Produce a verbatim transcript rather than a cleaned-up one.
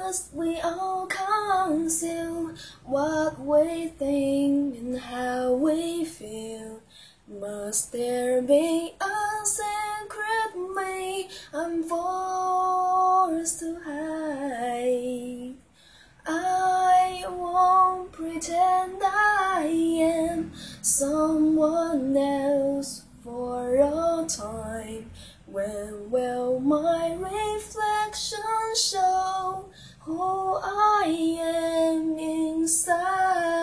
Must we all conceal what we think and how we feel? Must there be a secret me I'm forced to hide? I won't pretend I am someone else for a time. When will my reflection show who I am inside?